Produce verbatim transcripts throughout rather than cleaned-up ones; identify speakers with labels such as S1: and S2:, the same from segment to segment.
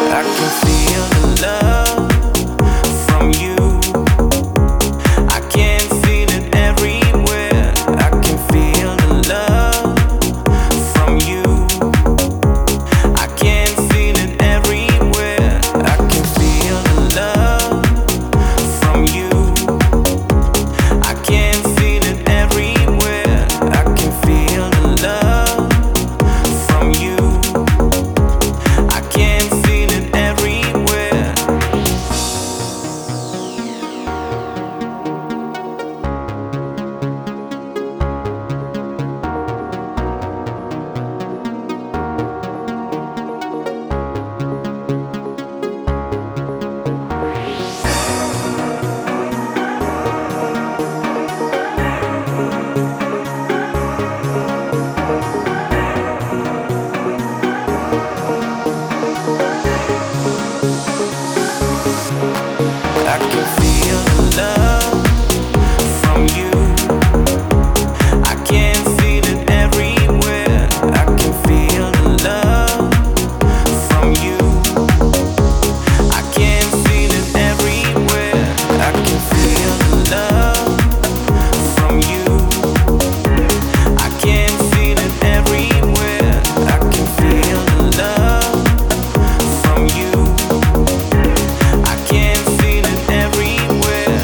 S1: I can feel the love from you. I can feel it everywhere. I can feel the love from you. I can feel it everywhere. I can feel the love from you. I can feel it everywhere. I can feel the love from you. I can feel it everywhere. I can feel the love from you. I can feel it everywhere. I can feel the love from you. I can feel it everywhere. I can feel the love from you. I can feel it everywhere. I can feel the love from you. I can feel it everywhere.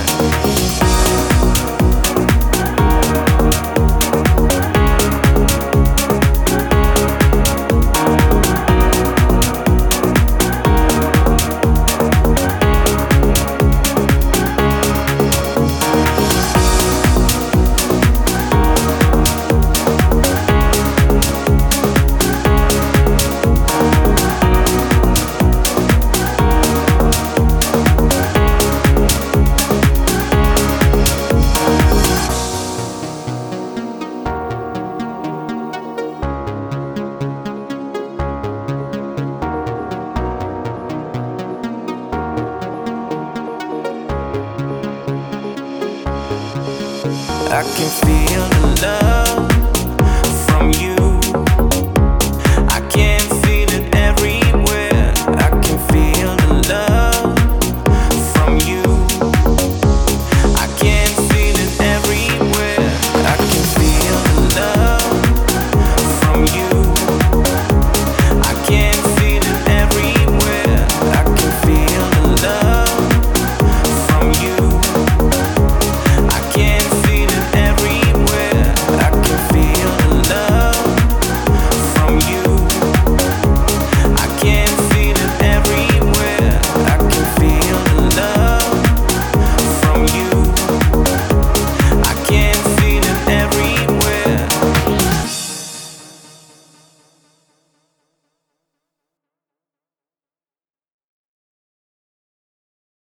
S1: I can feel the love